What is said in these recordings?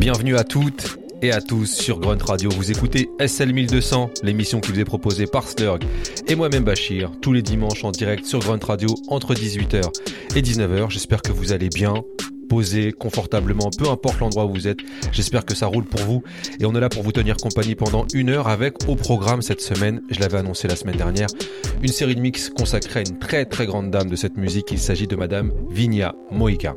Bienvenue à toutes et à tous sur Grunt Radio. Vous écoutez SL 1200, l'émission qui vous est proposée par Slurg et moi-même Bachir, tous les dimanches en direct sur Grunt Radio entre 18h et 19h. J'espère que vous allez bien, posé confortablement, peu importe l'endroit où vous êtes. J'espère que ça roule pour vous et on est là pour vous tenir compagnie pendant 1 heure avec au programme cette semaine, je l'avais annoncé la semaine dernière, une série de mix consacrée à une très très grande dame de cette musique. Il s'agit de Madame Vinia Moika.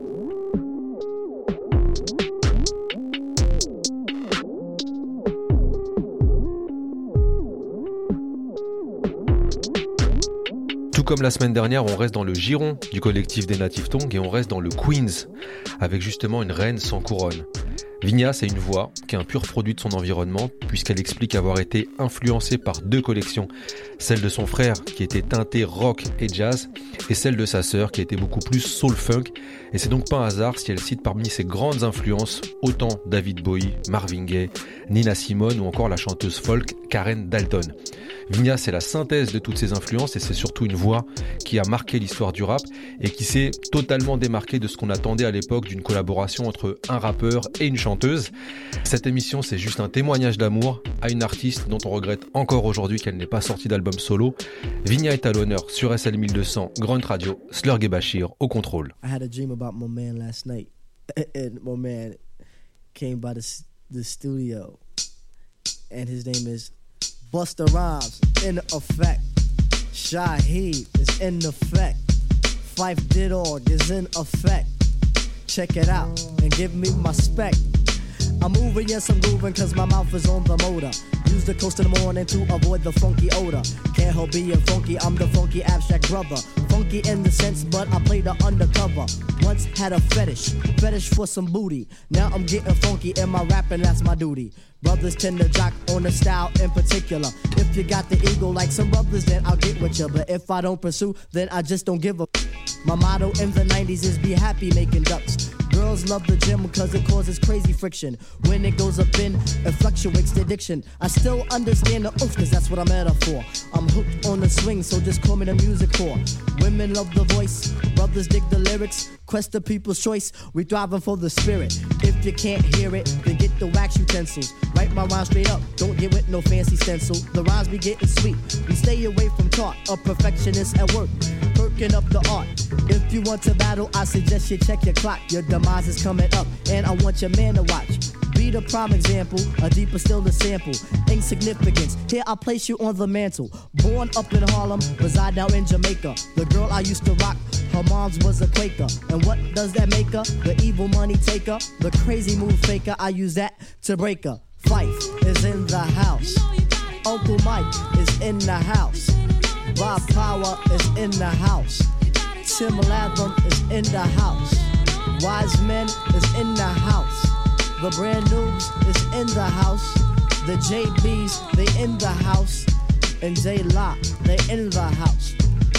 Tout comme la semaine dernière, on reste dans le giron du collectif des Native Tongues et on reste dans le Queens, avec justement une reine sans couronne. Vinia, c'est une voix qui est un pur produit de son environnement, puisqu'elle explique avoir été influencée par 2 collections, celle de son frère qui était teintée rock et jazz, et celle de sa sœur qui était beaucoup plus soul-funk, et c'est donc pas un hasard si elle cite parmi ses grandes influences autant David Bowie, Marvin Gaye, Nina Simone ou encore la chanteuse folk Karen Dalton. Vinia, c'est la synthèse de toutes ces influences et c'est surtout une voix qui a marqué l'histoire du rap et qui s'est totalement démarquée de ce qu'on attendait à l'époque d'une collaboration entre un rappeur et une chanteuse. Cette émission, c'est juste un témoignage d'amour à une artiste dont on regrette encore aujourd'hui qu'elle n'ait pas sorti d'album solo. Vinia est à l'honneur sur SL 1200, Grunt Radio, Slurg et Bachir au contrôle. I had a dream about my man last night and my man came by the studio and his name is Busta Rhymes in effect. Shaheed is in effect. Fife Didorg is in effect. Check it out and give me my spec. I'm moving, yes I'm grooving cause my mouth is on the motor. Use the coast in the morning to avoid the funky odor. Can't help being funky, I'm the funky abstract brother. Funky in the sense, but I play the undercover. Once had a fetish for some booty. Now I'm getting funky in my rapping, that's my duty. Brothers tend to jock on the style in particular. If you got the ego like some brothers, then I'll get with you. But if I don't pursue, then I just don't give a. My motto in the 90s is be happy making ducks. Girls love the gym because it causes crazy friction. When it goes up in, it fluctuates the addiction. I still understand the oof cause that's what I'm at up for. I'm hooked on the swing, so just call me the music whore. Women love the voice, brothers dig the lyrics. Quest the people's choice, we thriving for the spirit. If you can't hear it, then get the wax utensils. Write my rhyme straight up, don't get with no fancy stencil. The rhymes be getting sweet, we stay away from talk. A perfectionist at work, perking up the art. If you want to battle, I suggest you check your clock. Your demise is coming up, and I want your man to watch. Be the prime example, a deeper still the sample. Insignificance, here I place you on the mantle. Born up in Harlem, reside now in Jamaica. The girl I used to rock, her mom's was a Quaker. And what does that make her? The evil money taker, the crazy move faker. I use that to break her. Fife is in the house. Uncle Mike is in the house. Bob Power is in the house. Tim Latham is in the house. Wise Men is in the house. The Brand Noobs is in the house. The JBs, they in the house. And J-Lock, they in the house.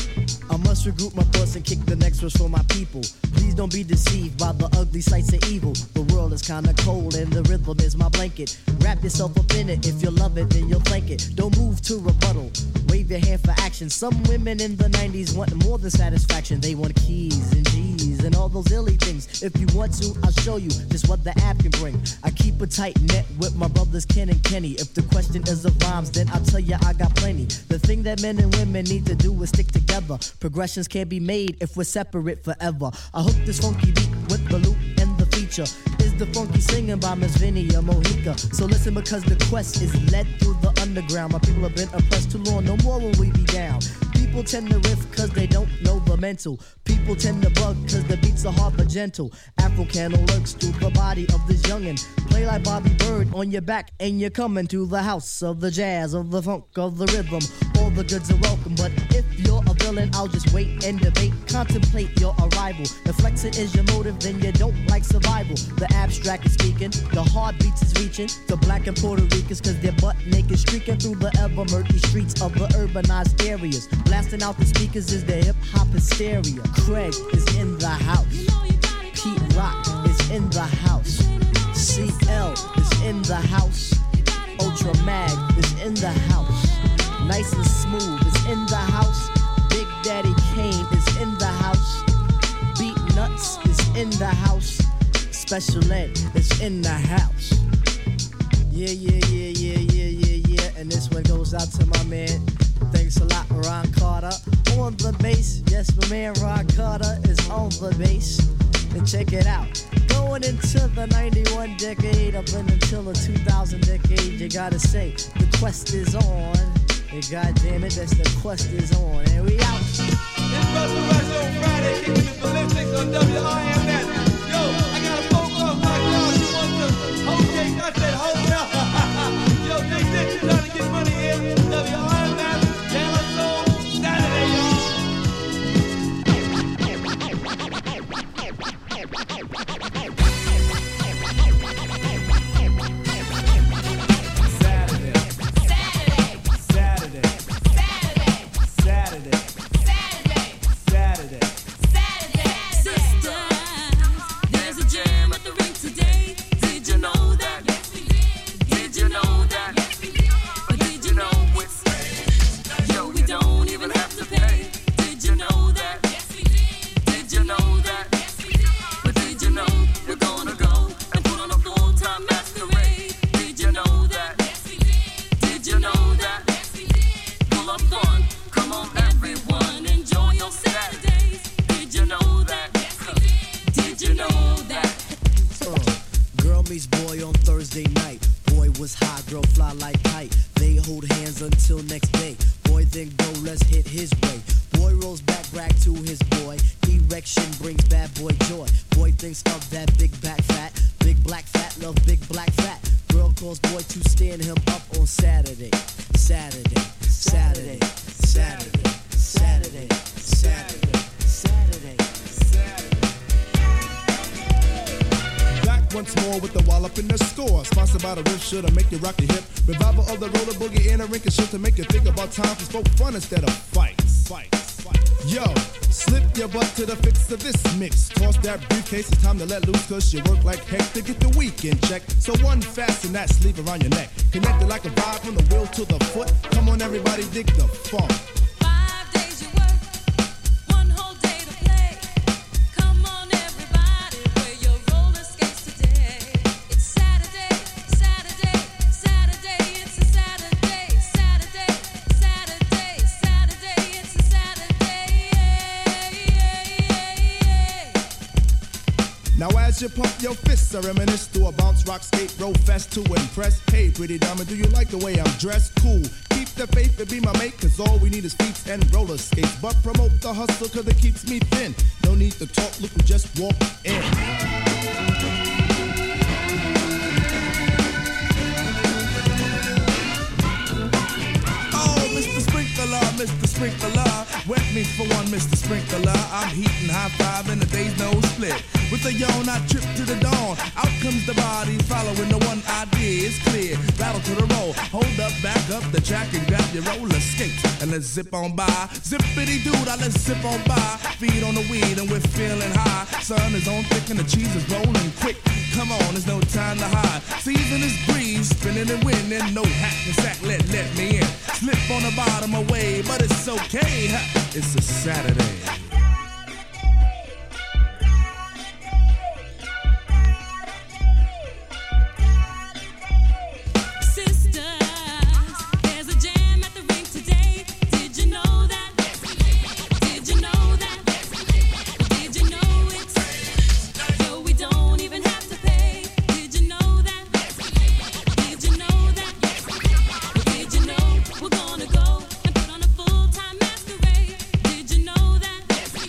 I must regroup my thoughts and kick the next verse for my people. Please don't be deceived by the ugly sights of evil. The world is kinda cold and the rhythm is my blanket. Wrap yourself up in it, if you love it then you'll thank it. Don't move to rebuttal, wave your hand for action. Some women in the 90s want more than satisfaction. They want keys and G's and all those illy things. If you want to, I'll show you just what the app can bring. I keep a tight net with my brothers Ken and Kenny. If the question is of rhymes, then I'll tell you I got plenty. The thing that men and women need to do is stick together. Progressions can't be made if we're separate forever. I hook this funky beat with the loop and the feature is the funky singing by Miss Vinia Moika. So listen because the quest is led through the underground. My people have been oppressed too long, no more will we be down. People tend to riff cause they don't know the mental. People tend to bug cause the beats are hard but gentle. Afro-Cano lurks through the body of this youngin'. Play like Bobby Bird on your back and you're coming to the house of the jazz, of the funk, of the rhythm. All the goods are welcome, but if you're a villain, I'll just wait and debate. Contemplate your arrival. If flexing is your motive, then you don't like survival. The abstract is speaking, the heartbeats is reaching to black and Puerto Ricans cause they're butt naked streaking through the ever murky streets of the urbanized areas. Blasting out the speakers is the hip-hop hysteria. Craig is in the house. Pete Rock is in the house. CL is in the house. Ultra Mag is in the house. Nice and Smooth is in the house. Big Daddy Kane is in the house. Beat Nuts is in the house. special ed that's in the house. Yeah. And this one goes out to my man. Thanks a lot, Ron Carter. On the bass, yes, my man Ron Carter is on the bass. And check it out. Going into the 91 decade, up until the 2000 decade, you gotta say, the quest is on. And goddamn it, that's the quest is on. And we out. It's Busta Rhymes on Friday, kicking it ballistics on WRMS. Yo, I got a phone call from my dog. She wants to hold cake. I said, hold up. Yo, Big Dick, you trying to get money here. WRMS, Dallas Soul, Saturday, y'all. Should've make you rock your hip. Revival of the roller boogie in a rink and shit to make you think about time for spoke fun instead of fights. Yo, slip your butt to the fix of this mix. Toss that briefcase, it's time to let loose, cause you work like heck to get the weekend check. So one fasten that sleeve around your neck. Connected like a vibe from the wheel to the foot. Come on everybody, dig the funk. Now as you pump your fists, I reminisce through a bounce, rock, skate, roll fast to impress. Hey, pretty diamond, do you like the way I'm dressed? Cool. Keep the faith and be my mate, cause all we need is feet and roller skates. But promote the hustle, cause it keeps me thin. No need to talk, look, we just walk in. Mr. Sprinkler, wet me for one, Mr. Sprinkler. I'm heating high five and the day's no split. With a yawn, I trip to the dawn. Out comes the body, following the one idea is clear. Rattle to the roll, hold up, back up the track and grab your roller skates and let's zip on by. Zippity dude, let's zip on by. Feet on the weed and we're feeling high. Sun is on thick and the cheese is rolling quick. Come on, there's no time to hide. Season is breeze, spinning and winning. No hack and sack, let me in. Slip on the bottom away, but it's okay. It's a Saturday. We're gonna go and put on a full-time masquerade. Did you know that?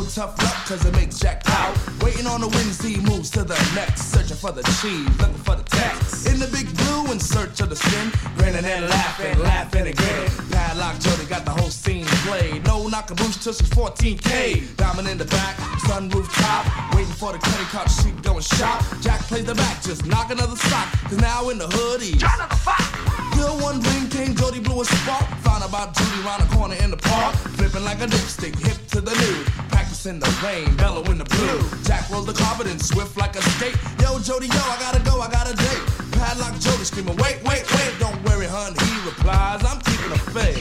tough luck, cause it makes Jack pout. Waiting on the Wednesday, he moves to the next. Searching for the cheese, looking for the text. In the big blue, in search of the sin. Grinning and laughing, laughing and grinning. Padlock Jody got the whole scene played. No knock-a-boosh till she's 14K. Diamond in the back, sunroof top. Waiting for the credit card sheet going shop. Jack plays the back, just knock another sock. Cause now in the hood he's John of the Fox. Till one ring came, Jody blew a spark. Found about Judy round the corner in the park. Flipping like a dipstick, hip to the nude. Practicing the rain, bellow in the blue. Jack rolls the carpet and swift like a skate. Yo, Jody, yo, I gotta go, I got a date. Padlock Jody screaming, wait, wait, wait. Don't worry, hun, he replies, I'm keeping a faith.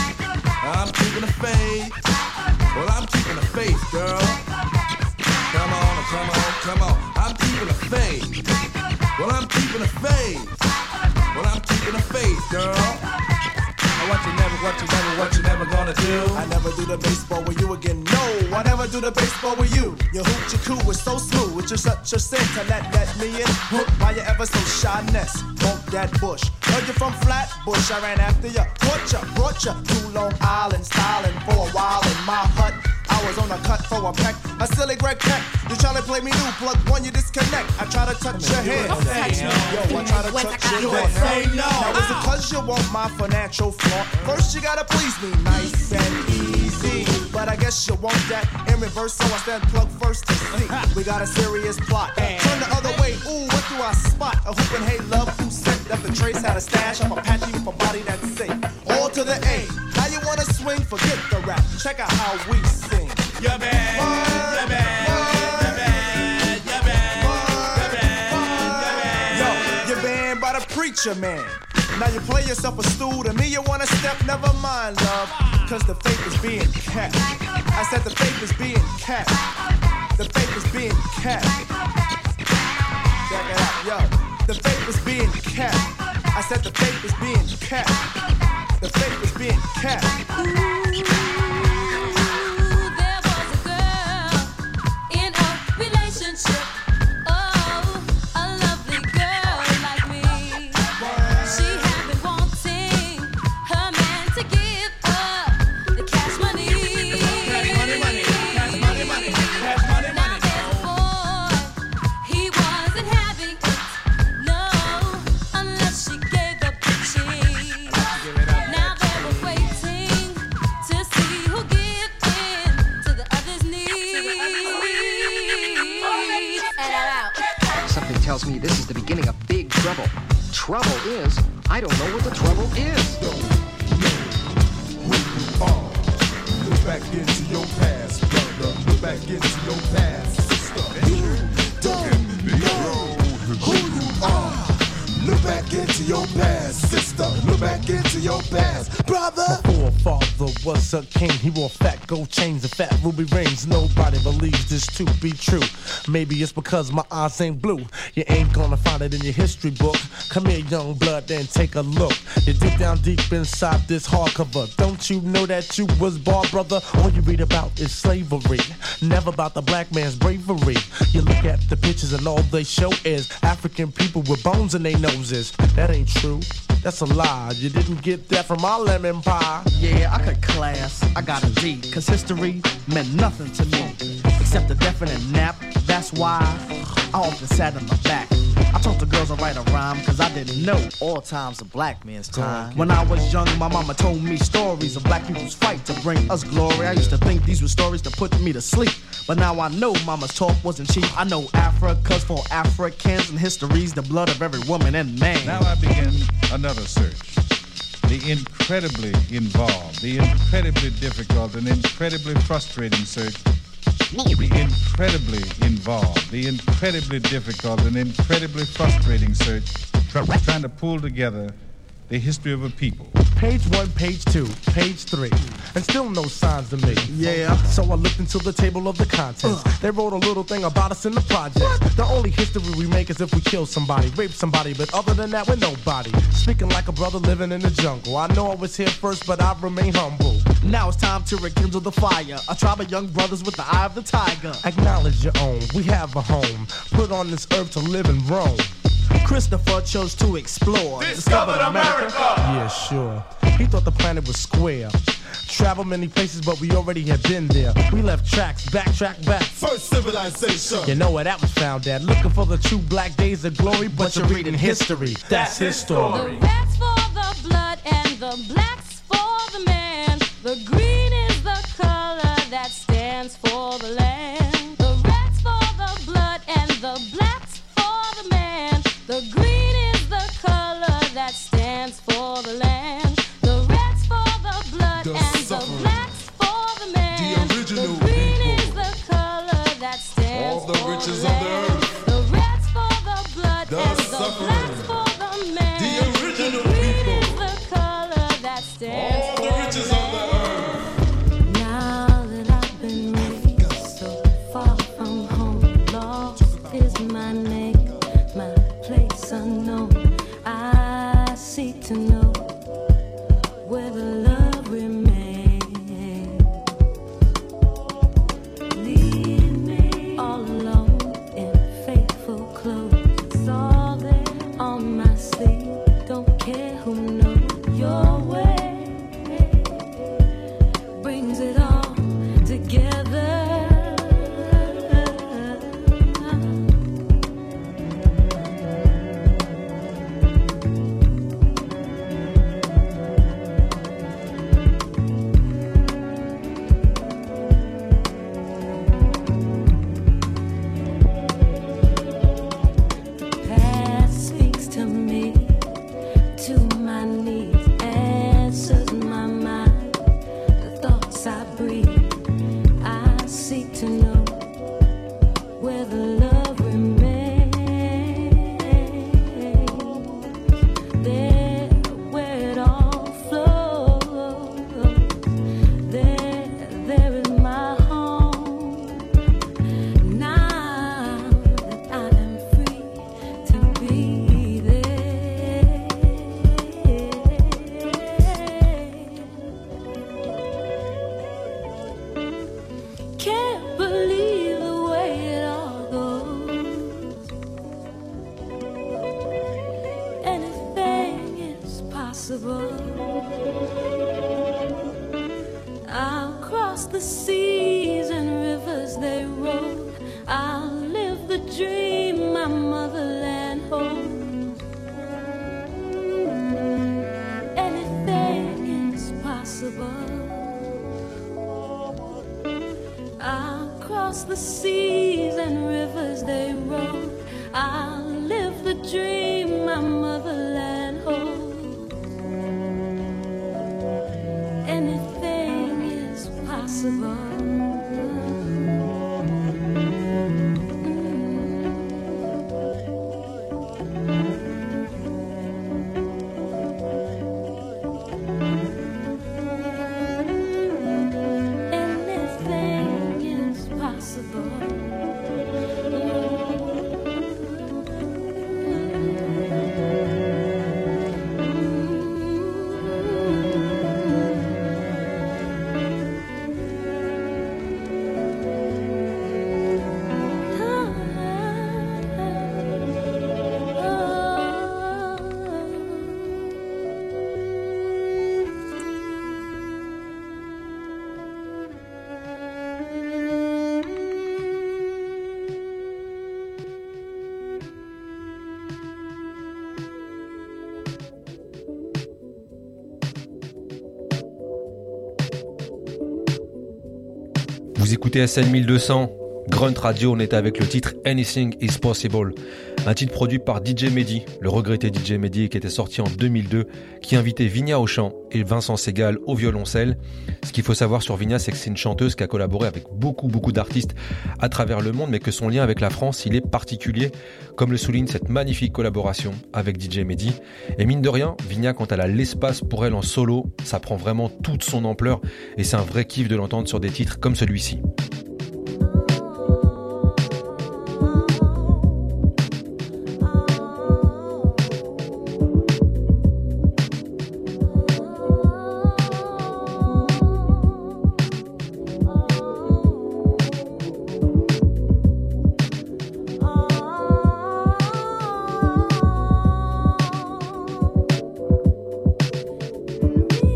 I'm keeping a faith. Well, I'm keeping a faith, girl. Come on, come on, come on. I'm keeping a faith. Well, I'm keeping a faith. Well, I'm keeping a faith, girl. What you never gonna do? I never do the baseball with you again. No, I never do the baseball with you. Your hoot, your coo is so smooth. It's just such a sin to let me in. Hook, why you ever so shyness? Bump that bush. Heard you from Flatbush. I ran after you. Brought you to Long Island, styling for a while in my hut. I was on a cut for a peck, a silly Greg Peck. You try to play me new, plug one, you disconnect. I try to touch your head. Yo, I try to touch your head. Say no. Now is it cause you want my financial flaunt? First you gotta please me, nice and easy. But I guess you want that in reverse, so I stand plug first to see. We got a serious plot. Turn the other way, ooh, what do I spot? A hoop and hey love who sent that the trace had a stash of Apache with a body that's safe. All to the A. Now you wanna swing, forget the rap. Check out how we sing. You're bad, you're bad, you're bad, you're bad, you're bad, you're bad. Yo, you're banned by the preacher man. Now you play yourself a stool, to me you wanna step, never mind love. Cause the faith is being kept. I said the faith is being kept. The faith is being kept. Check it out, yo. The faith is being kept. I said the faith is being kept. The faith is being kept. Tells me this is the beginning of big trouble. Trouble is, I don't know what the trouble is. Look back into your past, brother. Look back into your past, sister. You don't know who you are. Look back into your past, sister. Look back into your past, brother. My forefather was a king. He wore fat gold chains and fat ruby rings. Nobody believes this to be true. Maybe it's because my eyes ain't blue. You ain't gonna find it in your history book. Come here, young blood, and take a look. You dig down deep inside this hardcover. Don't you know that you was born, brother? All you read about is slavery, never about the black man's bravery. You look at the pictures and all they show is African people with bones in their noses. That ain't true. That's a lie. You didn't get that from my lemon pie. Yeah, I cut class. I got a D. Cause history meant nothing to me except a definite nap. That's why I often sat in the back. I taught the girls to write a rhyme cause I didn't know All time's a black man's time. when I was young, my mama told me stories of black people's fight to bring us glory. I used to think these were stories to put me to sleep, but now I know mama's talk wasn't cheap. I know Africa's for Africans and history's the blood of every woman and man. Now I begin another search. The incredibly involved, the incredibly difficult, and incredibly frustrating search. The incredibly involved, the incredibly difficult, and incredibly frustrating search, trying to pull together the history of a people. Page 1, page 2, page 3, and still no signs of me. Yeah. So I looked into the table of the contents. They wrote a little thing about us in the project. The only history we make is if we kill somebody, rape somebody, but other than that, we're nobody. Speaking like a brother living in the jungle. I know I was here first, but I remain humble. Now it's time to rekindle the fire. A tribe of young brothers with the eye of the tiger. Acknowledge your own. We have a home. Put on this earth to live and roam. Christopher chose to explore. Discovered America. Yeah, sure. He thought the planet was square. Traveled many places, but we already had been there. We left tracks, backtrack back. First civilization. You know where that was found at. Looking for the true black days of glory, but you're reading history. That's his story. The red's for the blood and the black's for the man. The green is the color that stands for the land. The red's for the blood and the black's for the man. The green is the color that stands for the land. The red's for the blood The and suffering. the black's for the man. The original the green people. is the color that stands All the for riches the of the land. earth. The red's for the blood The and the suffering. black's for the man. The original the green people. is the color that stands All for the riches of the earth. Now that I've been raised so far from home, lost is my name, my place unknown. I seek to know where the love remains. Leave me all alone in faithful clothes. It's all there on my sleeve. Don't care who knows your way. Brings it all together. Past speaks to me, to my needs, answers my mind. The thoughts I breathe, I seek to know where the love remains. There, where it all flows. There is my home. Now that I am free to be there. Can't believe the way it all goes. Anything is possible. I'll cross the seas and rivers they roll. I'll live the dream my motherland holds. Anything is possible. I'll cross the seas and rivers they roll. I'll live the dream my motherland holds. Anything is possible. Anything is possible. Vous écoutez SN 1200, Grunt Radio, on était avec le titre Anything is Possible, un titre produit par DJ Mehdi, le regretté DJ Mehdi qui était sorti en 2002, qui invitait Vigna au chant et Vincent Segal au violoncelle. Ce qu'il faut savoir sur Vigna, c'est que c'est une chanteuse qui a collaboré avec beaucoup d'artistes à travers le monde, mais que son lien avec la France, il est particulier, comme le souligne cette magnifique collaboration avec DJ Mehdi. Et mine de rien, Vigna, quand elle a l'espace pour elle en solo, ça prend vraiment toute son ampleur et c'est un vrai kiff de l'entendre sur des titres comme celui-ci. Me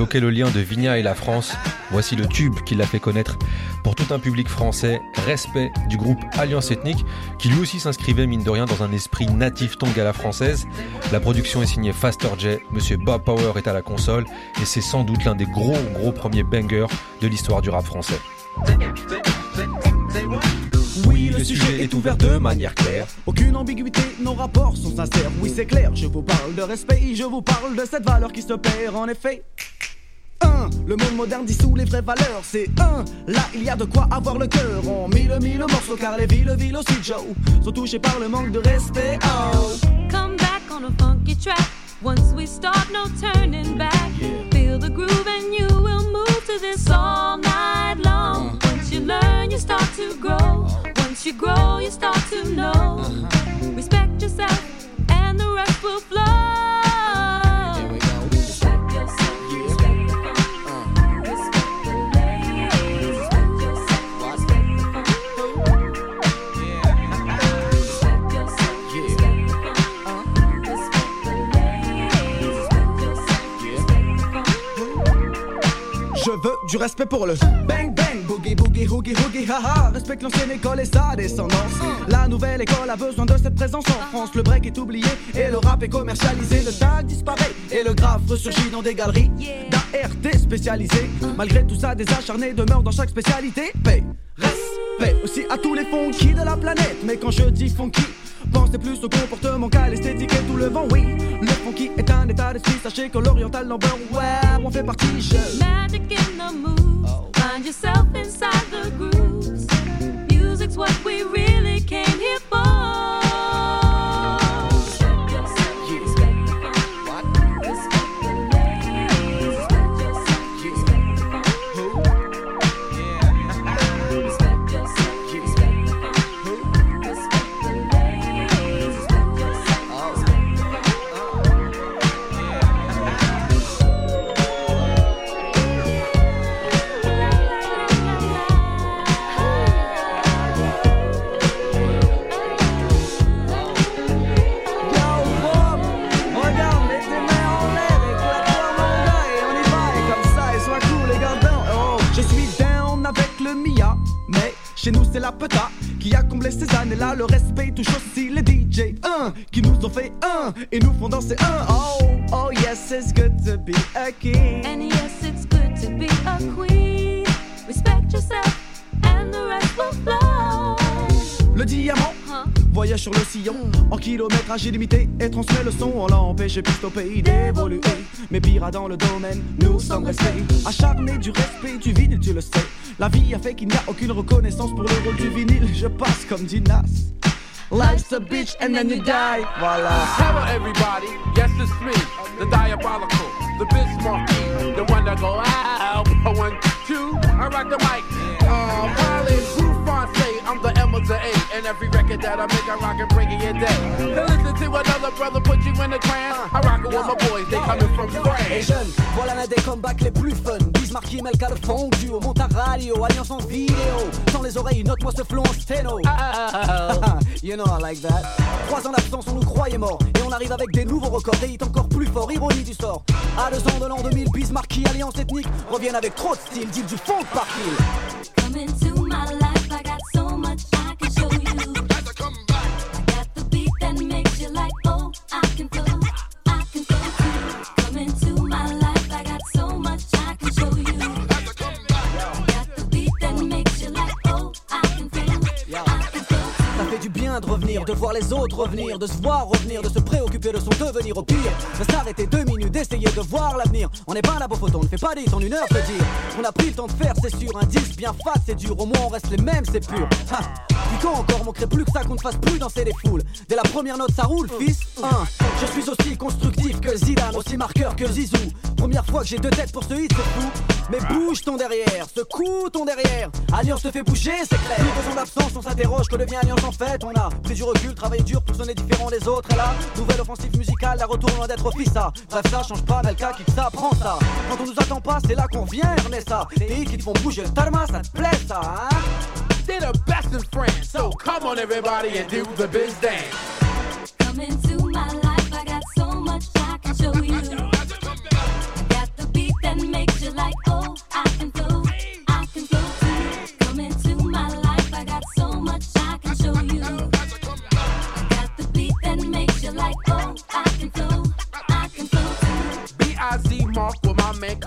évoquait le lien de Vigna et la France. Voici le tube qui l'a fait connaître pour tout un public français. Respect du groupe Alliance Ethnique, qui lui aussi s'inscrivait mine de rien dans un esprit natif tongue à la française. La production est signée Faster J, Monsieur Bob Power est à la console, et c'est sans doute l'un des gros premiers bangers de l'histoire du rap français. Oui, le sujet est ouvert de manière claire. Aucune ambiguïté, nos rapports sont sincères. Oui, c'est clair, je vous parle de respect, je vous parle de cette valeur qui se perd en effet. Le monde moderne dissout les vraies valeurs. C'est là il y a de quoi avoir le cœur. On mille morceaux car les villes aussi Joe sont touchées par le manque de respect. Come back on a funky track. Once we start, no turning back. Feel the groove and you will move to this all night long. Once you learn, you start to grow. Once you grow, you start to know. Respect yourself and the rest will flow. Je veux du respect pour le bang bang, boogie boogie, hoogie hoogie, haha. Respecte l'ancienne école et sa descendance. La nouvelle école a besoin de cette présence en France. Le break est oublié et le rap est commercialisé. Le tag disparaît et le graphe ressurgit dans des galeries d'ART spécialisées. Malgré tout ça, des acharnés demeurent dans chaque spécialité. Paix, respect aussi à tous les funky de la planète. Mais quand je dis funky, pensez plus au comportement qu'à l'esthétique et tout le vent, oui. Le funky est un état d'esprit, sachez que l'oriental number, ouais, on fait partie. Magic in the moves, find yourself inside the grooves. Music's what we really came here for. Chez nous c'est la peta qui a comblé ces années-là. Le respect touche aussi les DJ qui nous ont fait et nous font danser Oh yes, it's good to be a king. And yes, it's good to be a queen. Respect yourself and the rest will flow. Le diamant voyage sur le sillon en kilométrage illimité et transmet le son. On l'a empêché plus au pays d'évoluer. Mais pire dans le domaine, nous sommes restés acharnés du respect du vinyle, tu le sais. La vie a fait qu'il n'y a aucune reconnaissance pour le rôle du vinyle. Je passe comme dit Nas. Life's a bitch and then you die. Voilà. Hello everybody, yes it's me, the diabolical, the Bismarck, the one that go out. 1, 2, I rock the mic. Probably Groove Fonse, I'm the M of the A, and every record that I make, I rock and bring it your day. To listen to another brother put you in a trance, I rock it with my boys, they coming from France. Et jeunes, voilà l'un des comebacks les plus fun. Bismarck, Melka, le fondu, au monte à radio, alliance en vidéo. Sans les oreilles, note-moi ce flow en sténo. You know I like that. 3 ans d'absence, on nous croyait morts. Et on arrive avec des nouveaux records, des hits encore plus forts, ironie du sort. À 2 ans de l'an 2000, Bismarck, alliance ethnique, reviennent avec trop de style, dit du fond par kill. Come into my life, I got so much I can show you. I got the beat that makes you like, oh, I can flow too. Come into my life, I got so much I can show you. I got the beat that makes you like, oh, I can flow. Ça fait du bien de revenir, de voir les autres revenir, de se voir revenir, de se préoccuper de son devenir au pire. De s'arrêter 2 minutes, d'essayer de voir l'avenir. On n'est pas là pour photo, on ne fait pas des hits en 1 heure, peut dire. On a pris le temps de faire, c'est sûr, un disque bien fat, c'est dur. Au moins on reste les mêmes, c'est pur. Puis quand encore, manquerait plus que ça qu'on ne fasse plus danser les foules. Dès la première note, ça roule, fils. Je suis aussi constructif que Zidane, aussi marqueur que Zizou. Première fois que j'ai 2 têtes pour ce hit, c'est fou. Mais bouge ton derrière, secoue ton derrière. Alliance te fait bouger, c'est clair. Plus besoin d'absence, on s'interroge, que devient Alliance en fait. On a pris du recul, travaillé dur pour sonner différent des autres. Et là, nouvelle offensive musicale, la retour loin d'être fils ça. Bref, ça change pas, Melka kick ça, prends ça. Quand on nous attend pas, c'est là qu'on vient, Ernesta. Des hits qui te font bouger le tarma, ça te plaît ça, hein? They're the best in France, so come on everybody and do the biz dance. Come into my life, I got so much I can show you. I got the beat that makes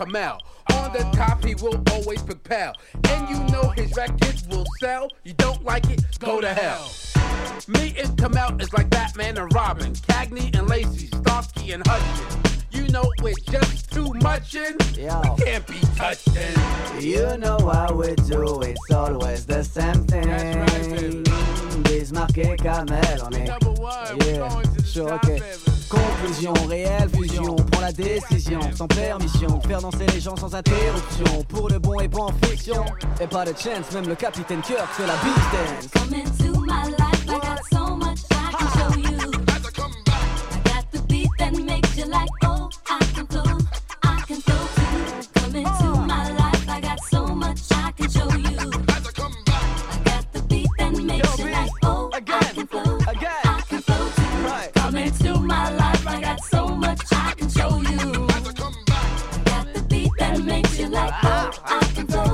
Kamel. On the top, he will always propel. And you know his records will sell. You don't like it, go to hell. Me and Kamel is like Batman and Robin, Cagney and Lacey, Starsky and Hutchins. You know we're just too much in, can't be touched in. You know how we do, it's always the same thing. That's right, baby. Bismarck et Kamel, on est sure, ok. Conclusion, réelle fusion, prends la décision sans permission, faire danser les gens sans interruption, pour le bon et pas en fiction. Et pas de chance, même le capitaine Kirk fait la beat dance. Come into my life, I got so much I can show you. I got the beat that makes you like, oh, I can flow too. Come into my life, I got so much I can show you. I got the beat that makes you like, oh, I can flow too. Come into my life, I got so much I can show you. I got the beat that makes you like, oh, I can flow.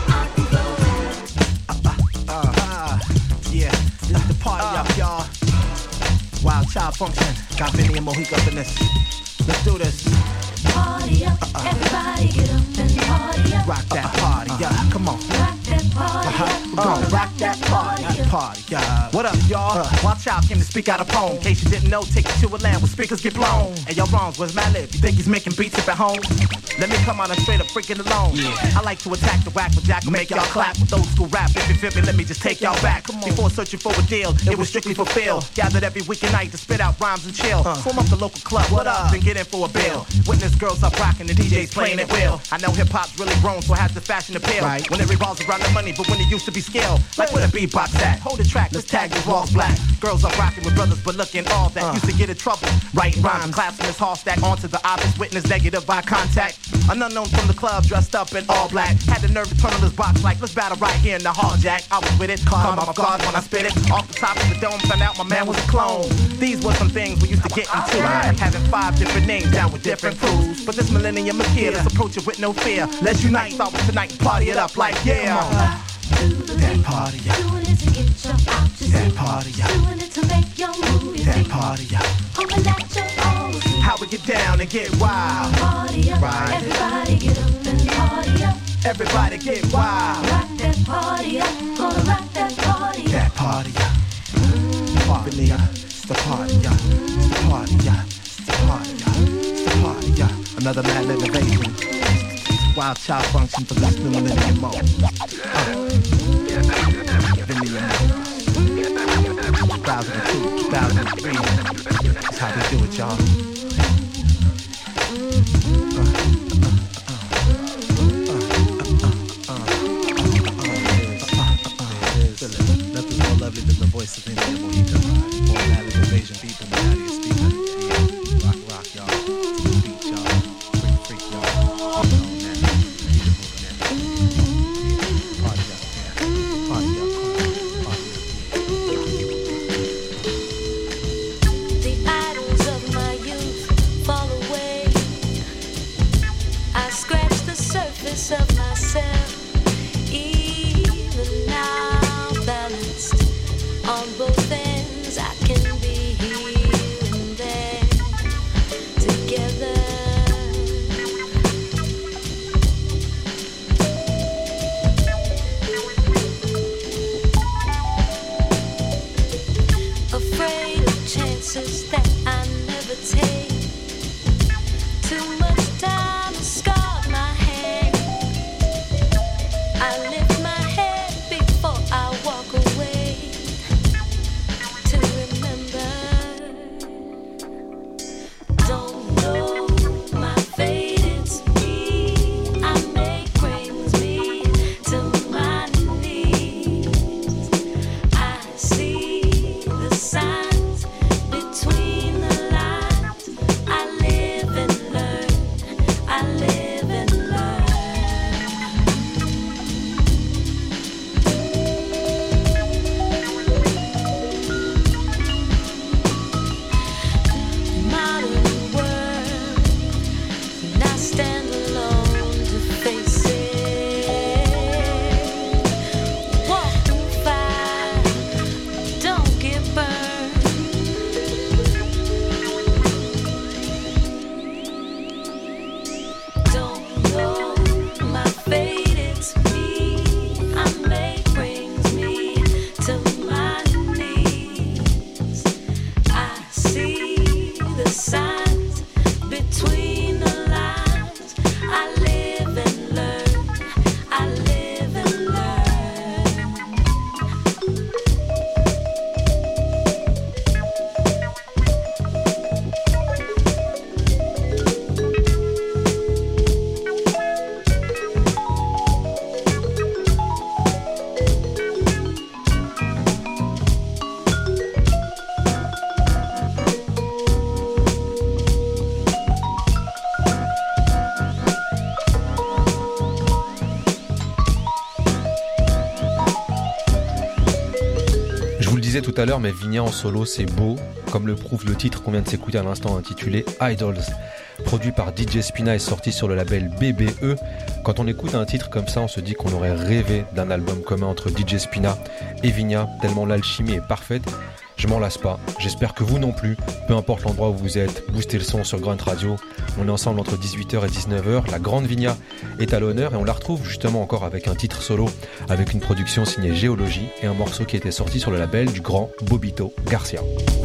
Yeah, this is the party up, y'all. Wild Child Function, got Vinny and Mohica up in this. Let's do this. Party up, everybody get up and party up. Rock that party, yeah, come on. Rock that party up. We're gonna rock that party, yeah. What up, y'all? Wild Child came to speak out a poem. In case you didn't know, take you to a land where speakers get blown. And your wrongs, where's Malib? You think he's making beats up at home? Let me come on and straight up freaking alone. I like to attack the whack with Jack, make y'all clap with old school rap. If you feel me, let me just take y'all back. Before searching for a deal, it was strictly for Phil. Gathered every weekend night to spit out rhymes and chill. Form up the local club, what up? Then get in for a bill. Witness girls up rocking, the DJs playing it well. I know hip hop's really grown, so it has the fashion appeal. Right. When it revolves around the money, but when it used to be skill, like where the beatbox at? Hold the track, let's tag these walls black. Girls up rocking with brothers, but looking all that. Used to get in trouble, writing rhymes, classing his hall stack onto the obvious witness, negative eye contact. An unknown from the club, dressed up in all black. Had the nerve to turn on his box like, let's battle right here in the hall, Jack. I was with it, caught off guard when I spit it. Off the top of the dome, found out my man was a clone. These were some things we used to get into. Having 5 different names down with different crews. But this millennium is here, let's approach it with no fear. Let's unite, start with tonight and party it up like, yeah. That party, yeah. Doing it to get you out to That see. party, yeah. Doing it to make your move. That party, yeah. Hoping that you're always How we get down and get wild. party up. Right. Everybody get up and party up. Everybody get wild. Rock that party up. Gonna rock that party up. That party, yeah. Party, yeah. It's the party, yeah. It's the party, yeah. It's the party, yeah. It's the party, yeah. Another mad innovation. Wild Child Function for this new millennium mode. Millennium mode. 2002, 2003. That's how we do it, y'all. Nothing's more lovely than the voice of Vinny Mohica. More mad invasion people, the nastiest speaker. Rock, y'all. Beat, y'all. Freak, y'all. Party up, party up. The idols of my youth fall away. I scratch the surface of myself. Even now balanced on both ends, I can be here and there together. Afraid of chances that I never take. Too much time has scarred my hand. I lift my head before I walk away to remember. Don't know my fate, it's me. I make brings me to my knees. I see the signs between the lines. I live and learn. I live and learn. disais tout à l'heure, mais Vigna en solo, c'est beau, comme le prouve le titre qu'on vient de s'écouter à l'instant intitulé Idols. Produit par DJ Spina et sorti sur le label BBE. Quand on écoute un titre comme ça, on se dit qu'on aurait rêvé d'un album commun entre DJ Spina et Vigna, tellement l'alchimie est parfaite. Je m'en lasse pas, j'espère que vous non plus, peu importe l'endroit où vous êtes, boostez le son sur Grunt Radio. On est ensemble entre 18h et 19h, la grande Vigna est à l'honneur et on la retrouve justement encore avec un titre solo, avec une production signée Géologie et un morceau qui était sorti sur le label du grand Bobito Garcia.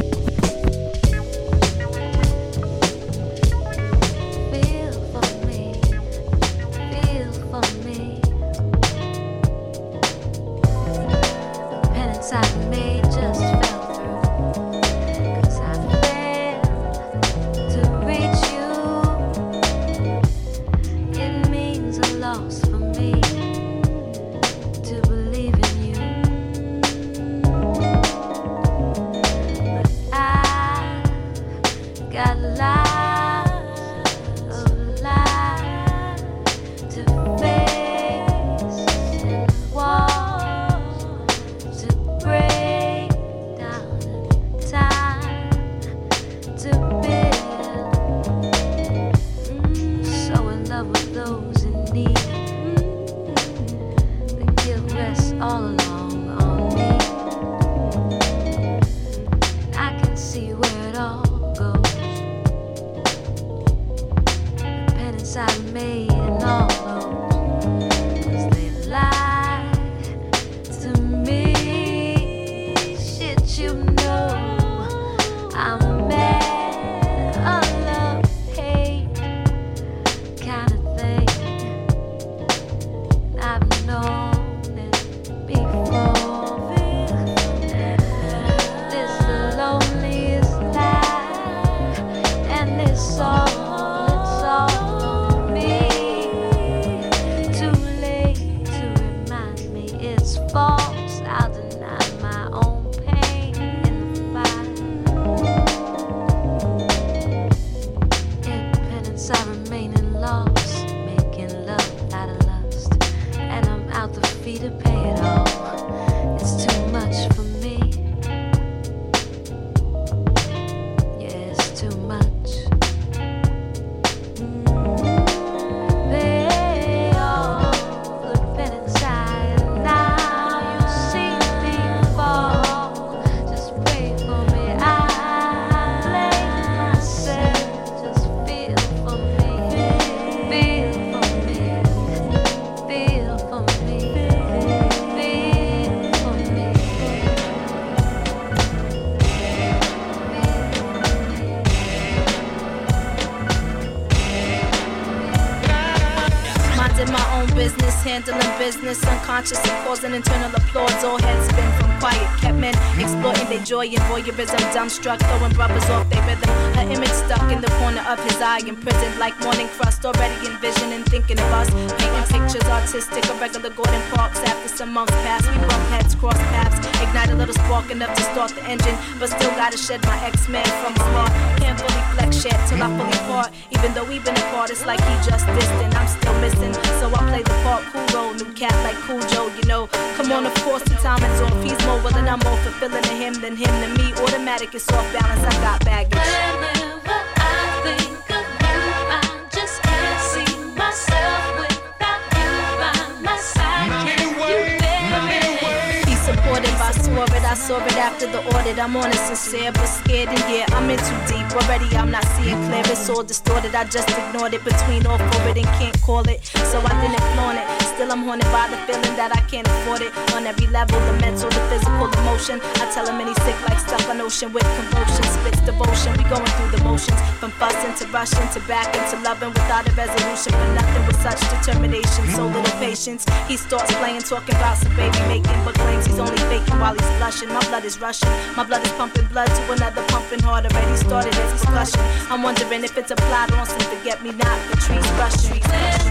handling business, unconscious and causing internal applause. All heads spin from quiet, kept men exploiting their joy and voyeurism. Dumbstruck, throwing brothers off their rhythm. Her image stuck in the corner of his eye, imprisoned like morning crust. Already envisioning, thinking of us, painting pictures artistic. A regular Gordon Parks. After some months pass, we bump heads, cross paths. Ignite a little spark enough to start the engine, but still gotta shed my X-Men from his heart. Can't fully flex yet till I fully part. Even though we've been apart, it's like he just distant. I'm still missing, so I play the part. Cool role, new cat like Cool Joe, you know. Come on, of course, the time is off. He's more willing, I'm more fulfilling to him than him to me. Automatic, it's off balance. I got baggage. Whenever I think of you, I just can't see myself without you by my side. Can you bear it? He's supported by Swerve. I saw it after the audit. I'm honest, sincere, but scared, and yeah, I'm in too deep. Already, I'm not seeing clear. It's all distorted. I just ignored it between all for it and can't call it. So I didn't flaunt it. Still, I'm haunted by the feeling that I can't afford it. On every level, the mental, the physical, emotion. I tell him and he's sick like stuck on ocean with convulsion. Splits devotion. We going through the motions. From fussing to rushing to back into loving without a resolution. For nothing with such determination. So little patience. He starts playing, talking about some baby making, but claims he's only faking while he's blushing. My blood is rushing. My blood is pumping blood to another pumping heart. Already started its discussion. I'm wondering if it's applied on some forget-me-not. The trees rushing.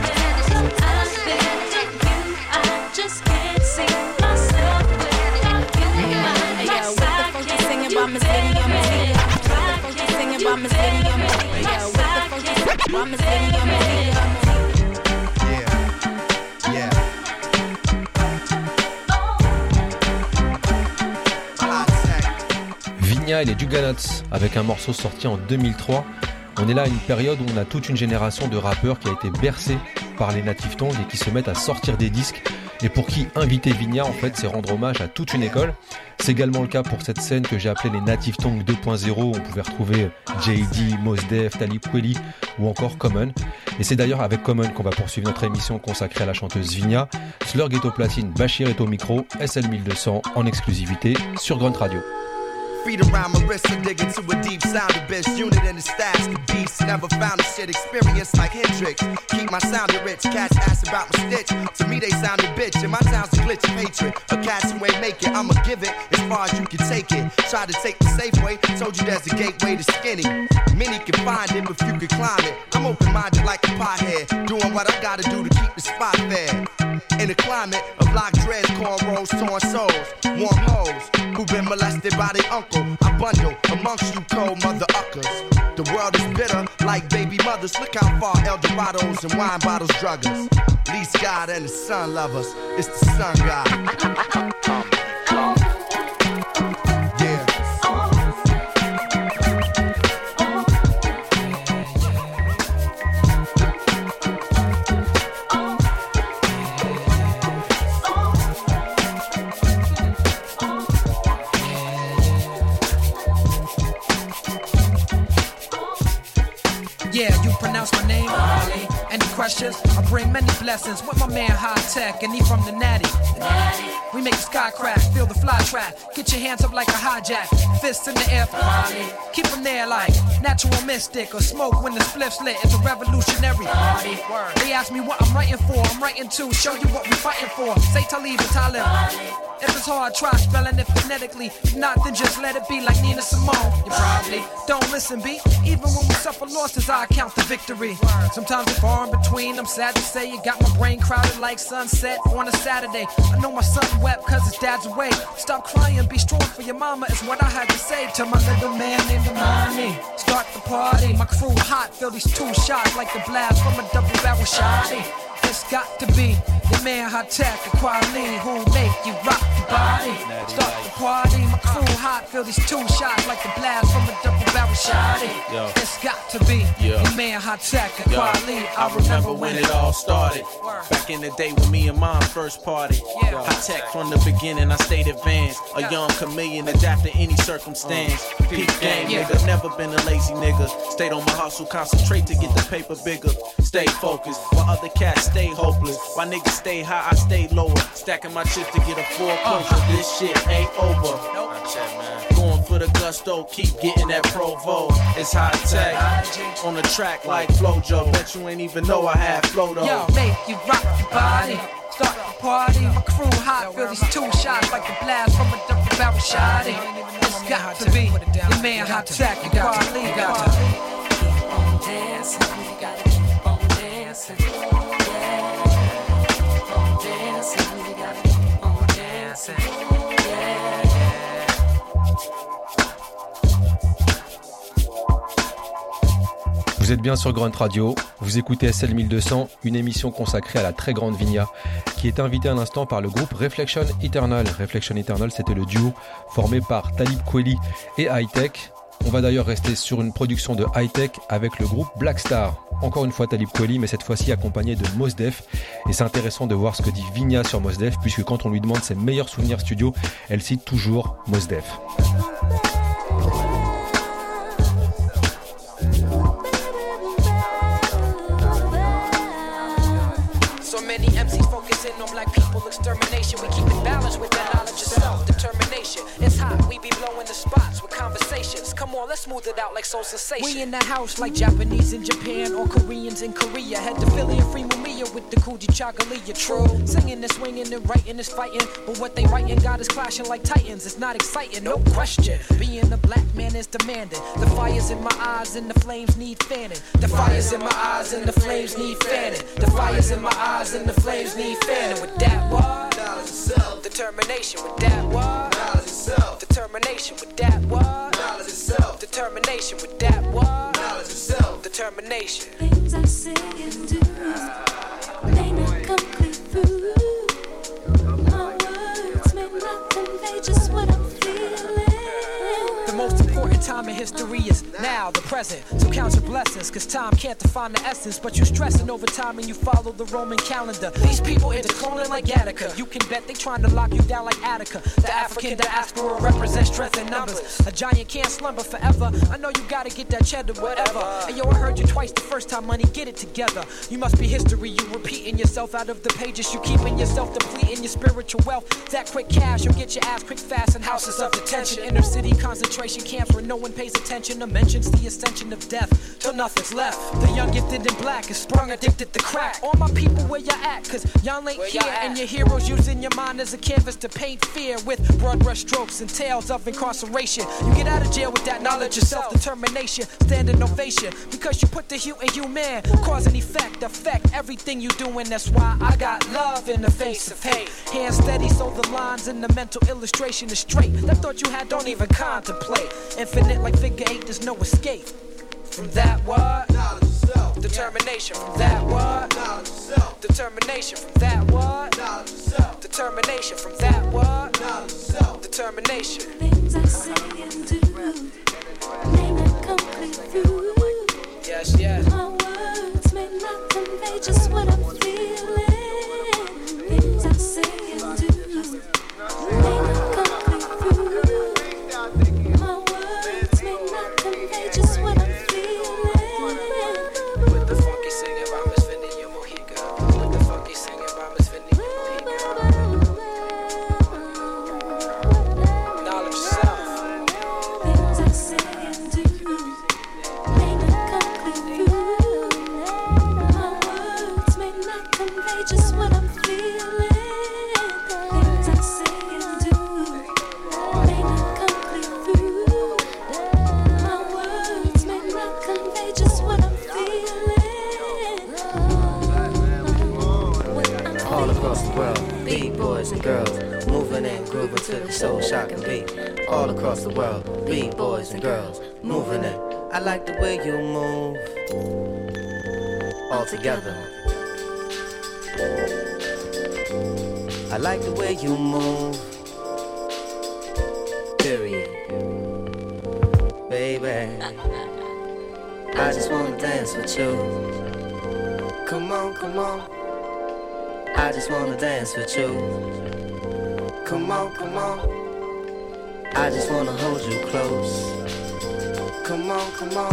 I just can't see myself without you by my side. What the fuck you singing about Miss Lydia? What the fuck you singing about Miss Lydia? What the fuck you singing about Miss Lydia? Yeah. Vigna et les Juggernauts avec un morceau sorti en 2003. On est là à une période où on a toute une génération de rappeurs qui a été bercée par les Native Tongues et qui se mettent à sortir des disques et pour qui inviter Vigna en fait c'est rendre hommage à toute une école. C'est également le cas pour cette scène que j'ai appelée les Native Tongues 2.0 où on pouvait retrouver JD, Mos Def, Talib Kweli ou encore Common. Et c'est d'ailleurs avec Common qu'on va poursuivre notre émission consacrée à la chanteuse Vigna. Slurg est au platine, Bachir est au micro, SL 1200 en exclusivité sur Grunt Radio. Feet around my wrist, I dig into a deep sound of best unit in the stats. The beast never found a shit experience like Hendrix. Keep my sound rich, cats ask about my stitch. To me they sound a bitch, and my sound's a glitch of hatred. A cats who ain't make it, I'ma give it as far as you can take it. Try to take the safe way, told you there's a gateway to skinny. Many can find it, but few can climb it. I'm open-minded like a pothead, doing what I gotta do to keep the spot fair. In a climate of locked dreads, cornrows, torn souls, warm hoes who've been molested by their uncle. I bundle amongst you cold mother uckers. The world is bitter like baby mothers. Look how far El Dorados and wine bottles drug us. Least God and the sun love us. It's the sun God. Yeah, you pronounce my name, Marley. Any questions? I bring many blessings with my man High Tech, and he from the Natty. We make the sky crack, feel the fly track. Get your hands up like a hijack, fists in the air for Marley. Keep them there like natural mystic or smoke when the spliff's lit. It's a revolutionary party. They ask me what I'm writing for. I'm writing to show you what we fighting for. Say Talib and Talib. If it's hard, try spelling it phonetically. If not, then just let it be like Nina Simone. You probably don't listen, B. Even when we suffer losses, I count the victory. Sometimes it's far in between. I'm sad to say it got my brain crowded like sunset on a Saturday. I know my son wept cause his dad's away. Stop crying, be strong for your mama is what I had to say to my little man named Amani. Start the party, my crew hot. Feel these two shots like the blast from a double barrel shotty. It's got to be the man High Tech, the Quality who make you rock your body. Start the party, my crew hot. Feel these two shots like the blast from a double barrel shotty. It's got to be the man High Tech, the Quality. I remember when it all started. Back in the day when me and mom first party. High Tech from the beginning, I stayed advanced. A young chameleon, adapt to any circumstance. Peak game, nigga, never been a lazy nigga. Stayed on my hustle, concentrate to get the paper bigger. Stay focused, while other cats stay hopeless. While niggas stay high, I stay lower. Stacking my chips to get a full closure. This shit ain't over. Going for the gusto, keep getting that Provo. It's High Tech on the track like Flojo. Bet you ain't even know I had flow though. Yo, make you rock your body. Start the party, my crew hot. Feel these two shots like the blast from a double barrel shotty. It's got to be the man High Tech, the Quality. Keep on dancing, you gotta keep on dancing. Yeah, keep on dancing, you gotta keep on dancing. Vous êtes bien sur Grunt Radio, vous écoutez SL 1200, une émission consacrée à la très grande Vigna, qui est invitée à l'instant par le groupe Reflection Eternal. Reflection Eternal, c'était le duo formé par Talib Kweli et High Tech. On va d'ailleurs rester sur une production de High Tech avec le groupe Black Star. Encore une fois Talib Kweli, mais cette fois-ci accompagné de Mos Def. Et c'est intéressant de voir ce que dit Vigna sur Mos Def, puisque quand on lui demande ses meilleurs souvenirs studio, elle cite toujours Mos Def. Many MCs focusing on black people extermination. We keep it balanced with that knowledge of self-determination. It's hot, we be blowing the spots with conversations. Come on, let's smooth it out like Soul Sensation. We in the house like Japanese in Japan or Koreans in Korea. Head to Philly and free Mamiya with the Kuji Chagalia. True, singing and swinging and writing is fighting. But what they writing got us clashing like titans. It's not exciting, no question. Being a black man is demanding. The fire's in my eyes and the flames need fanning. The fire's in my eyes and the flames need fanning. The fire's in my eyes and the flames need fanning. With that what? Knowledge itself. Determination. With that what? Knowledge itself. Determination. With that what? Knowledge itself. Determination. With that what? Knowledge itself. Determination. Things I say and do may not come clear through. My words may not convey just what I'm feeling. The most of history is now, the present. So count your blessings, cause time can't define the essence. But you stressing over time and you follow the Roman calendar. These people into cloning like Gattaca. You can bet they trying to lock you down like Attica. The African diaspora represents strength in numbers. A giant can't slumber forever. I know you gotta get that cheddar, whatever. Hey yo, I heard you twice the first time, money, get it together. You must be history, you repeating yourself out of the pages. You keeping yourself depleting your spiritual wealth. That quick cash, you'll get your ass quick fast in houses of detention. Inner city concentration camps where no one pays attention or mentions the ascension of death till nothing's left. The young gifted in black is sprung addicted to crack. All my people where you at, cause y'all ain't here. And your heroes using your mind as a canvas to paint fear with broad brush strokes and tales of incarceration. You get out of jail with that knowledge of self-determination, standing ovation, because you put the hue in you, man. Cause and effect, affect everything you doing. That's why I got love in the face of hate. Hands steady so the lines in the mental illustration is straight. That thought you had, don't even contemplate. Infinite like figure eight, there's no escape. From that what? Knowledge of self. Determination from that what? Knowledge of self. Determination from that what? Knowledge of self. Determination from that what? Knowledge of self. Determination. Things I say and do may not complete through. Yes, yes. My words may not convey just what I'm feeling. Things I say and do may not complete through. My words may not convey just what I'm feeling. With the funky singing by Miss Fendi, you Mojica. With the funky singing by Miss Fendi, you Mojica. Knowledge self. Things I say and do may not complete through. My words may not convey just what I'm feeling. Things I say and do may not complete through. My words may not convey just what I'm feeling. All across the world, big boys and girls, moving and grooving to the soul shocking beat. All across the world, big boys and girls, moving it. I like the way you move, all together. I like the way you move, period. Baby, I just wanna dance with you. Come on, come on. I just wanna dance with you. Come on, come on. I just wanna hold you close. Come on, come on.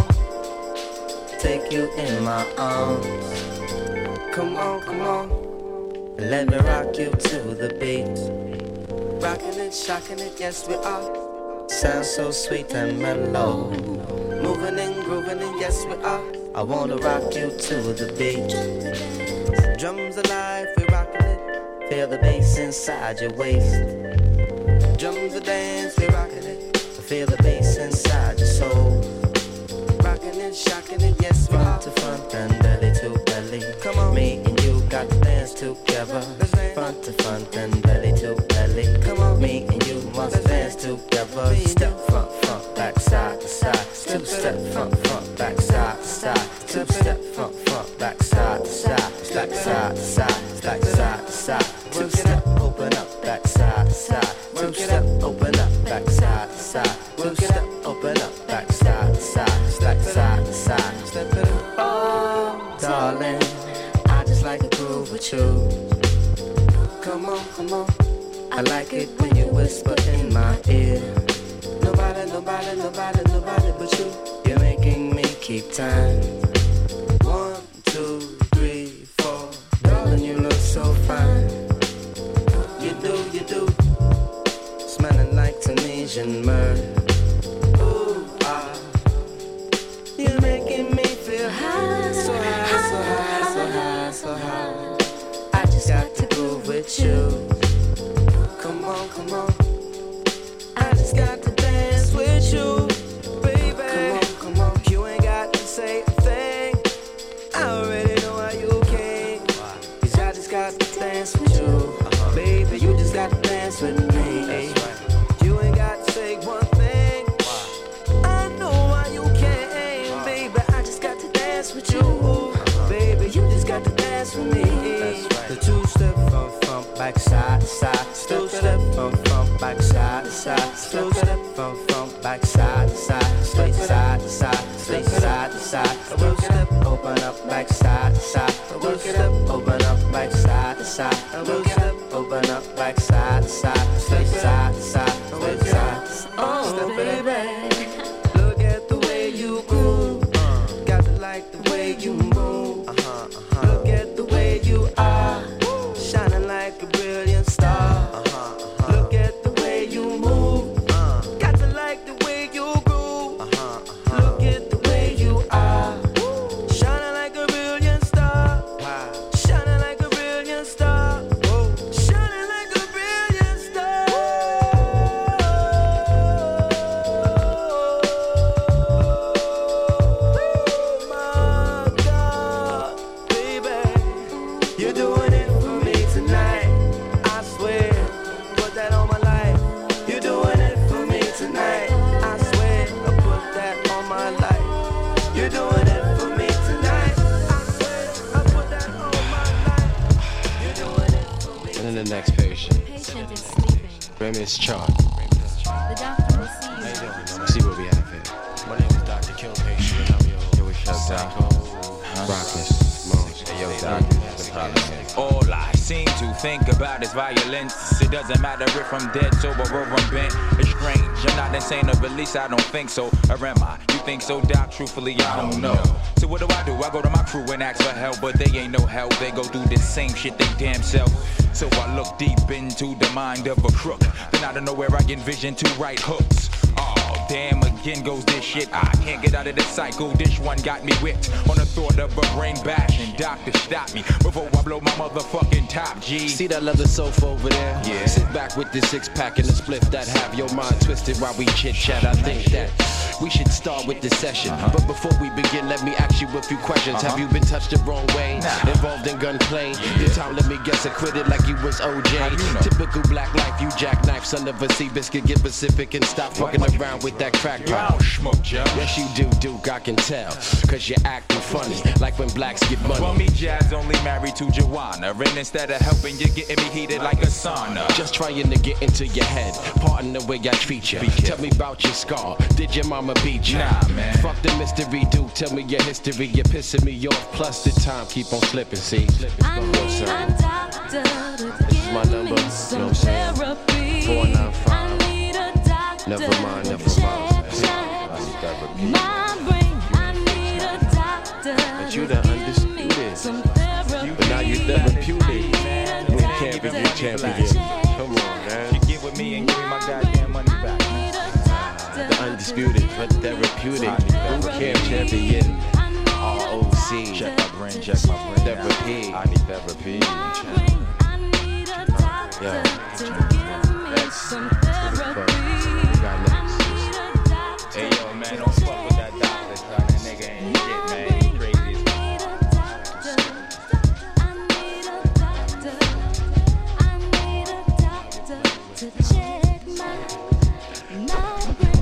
Take you in my arms. Come on, come on. Let me rock you to the beat. Rocking it, shocking it, yes we are. Sounds so sweet and mellow. Moving and grooving and yes we are. I wanna rock you to the beat. Drums alive, we rockin' it. Feel the bass inside your waist. Drums a dance, we rockin' it. Feel the bass inside your soul. Rockin' it, shockin' it, yes we are. To front and belly to belly. Come on, me and you got to dance together. Front to front and belly to belly. Come on, me and you must dance together. Step front, front, back, side to side. Two step front, front, back, side to side. Two step front, front, back, side to side. Back side to side, back side to side. Two step, open up, back side to side. Two step, open up, back side to side. Two step, open up, back side to side. Back side to side. Oh, darling, I just like to groove with you. Come on, come on. I like it when you whisper in my ear. Nobody, nobody, nobody, nobody but you. You're making me keep time. 1, 2, 3, 4. Darling, you look so fine. You do. Smelling like Tunisian myrrh. Ooh, ah. You're making me feel high. So high, so high, so high, so high. I just got to groove with you. Come on, come on. I just got to dance with you, baby. Come on, come on. You ain't got to say a thing. I already know how you came. 'Cause I just got to dance with you, baby. You just got to dance with me. You ain't got to say one thing. I know why you came, baby. I just got to dance with you, baby. You just got to dance with me. The two-step from back side to side. Two-step from back side to side. Two-step from back side to side. Straight Work it up, open up, back side to side. Work it up, open up, back side to side. Stay side to side, stay side to side. Oh, baby, look at the way you groove. Got to like the way you move. Look at the way you are, shining like a brilliant star. Look at the way you move. Got to like the way you groove. Look at the way you are, shining like a brilliant star. Shining like a brilliant star. Shining like a brilliant star. Oh my God, baby, you're doing it for me tonight. I swear, put that on my life. You're doing it for me tonight. I swear, I put that on my life. You're doing it for me tonight. I swear, I put that on my life. You're doing it for me. And then the next patient. Patient is sleeping. Remi's chart. The doctor will see you. See what we have here. My name is Dr. Kill Patient, and I'm your Yo, what's up, Doc? Rockness, Mons. Hey, yo, Doc. All I seem to think about is violence. It doesn't matter if I'm dead, sober, or I'm bent. It's strange, I'm not insane, or at least I don't think so. Or am I? You think so, Doc? Truthfully, I don't know. So what do? I go to my crew and ask for help, but they ain't no help. They go through the same shit they damn self. So I look deep into the mind of a crook. Then out of nowhere I envision two right hooks. Oh, damn, again goes this shit. I can't get out of this cycle. This one got me whipped on the thought of a brain bash. And doctor, stop me before I blow my motherfucking top, G. See that leather sofa over there? Yeah. Sit back with this six-pack and a spliff that have your mind twisted while we chit-chat. I think that we should start with the session. But before we begin, let me ask you a few questions. Have you been touched the wrong way? Involved in gunplay? Your time, let me guess, acquitted like you was OJ. Typical black life, you jackknife, son of a Seabiscuit. Get Pacific and stop fucking around with that crack pipe. Yes, you do, Duke, I can tell. Cause you're acting funny, like when blacks get money. Well, me, Jazz, only married to Joanna. And instead of helping, you're getting me heated like a sauna. Just trying to get into your head. Pardon the way I treat you. Tell me about your scar. Did your mama beat you? Nah, man. Fuck the mystery, dude. Tell me your history. You're pissing me off. Plus the time keep on slipping, see? I need a doctor to give my number, me some therapy. 495. I need a doctor Never mind. my brain. I need a doctor But you the undisputed. some therapy. But now you therapeutic. Boot camp is your champion. Come on, man. You get with me and give me my goddamn money back. The undisputed, but therapeutic. Boot camp champion. ROC. Check my brain, check my brain. Therapy. I need therapy. Yo. Some therapy. Hey, yo, man, don't fuck with that doctor, son. That nigga ain't shit, man. He crazy as to check my brain.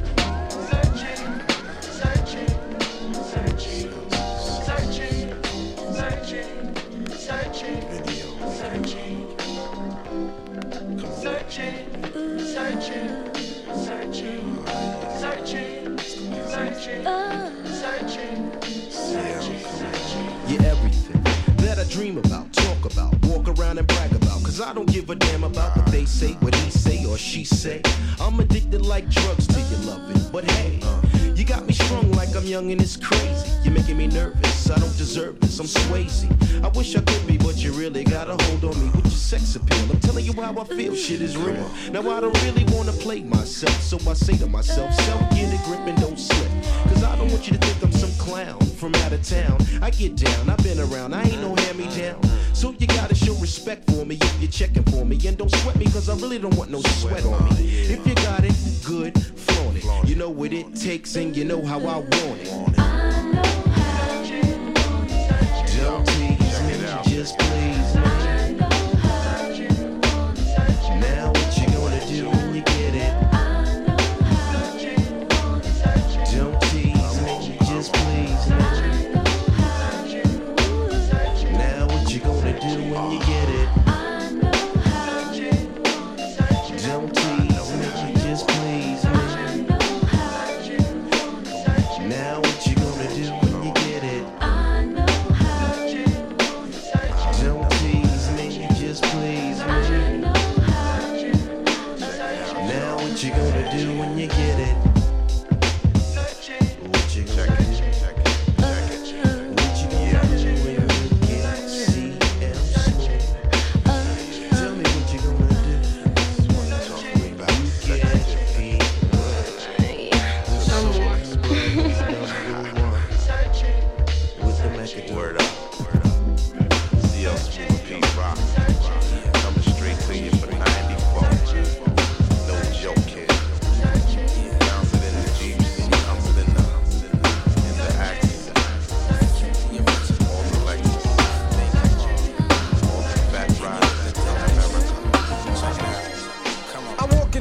You're everything that I dream about, talk about, walk around and brag about. Cause I don't give a damn about what they say, what he say or she say. I'm addicted like drugs to your loving. But hey, you got me strung like I'm young and it's crazy. You're making me nervous, I don't deserve this, I'm Swayze. I wish I could be, but you really got a hold on me with your sex appeal. I'm telling you how I feel, shit is real. Now I don't really wanna play myself, so I say to myself, self, get a grip and don't slip. Cause I don't want you to think I'm some clown from out of town. I get down, I've been around, I ain't no hand-me-down. So you gotta show respect for me if you're checking for me. And don't sweat me, cause I really don't want no sweat on me. If you got it, good, flaunt it. You know what it takes and you know how I want it. Don't tease me, just please me. Now what you gonna do when you get it? Don't tease me, just please me. Now what you gonna do when you get it? Don't tease me, just please me. Now what you